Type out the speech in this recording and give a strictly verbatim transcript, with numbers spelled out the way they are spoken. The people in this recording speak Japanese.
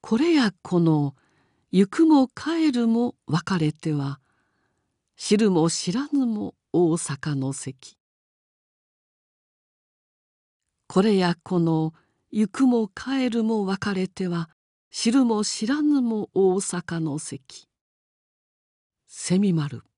これやこの行くも帰るも別れては、知るも知らぬも大阪の関。これやこの行くも帰るも別れては、知るも知らぬも大阪の関。蝉丸。